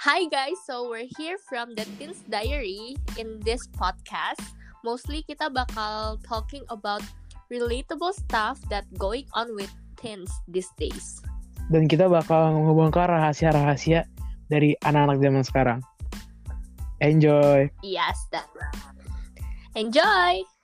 Hi guys, so we're here from the Teens Diary. In this podcast, mostly kita bakal talking about relatable stuff that going on with teens these days. Dan kita bakal ngebongkar rahasia-rahasia dari anak-anak zaman sekarang. Enjoy! Yes, that's right. Enjoy!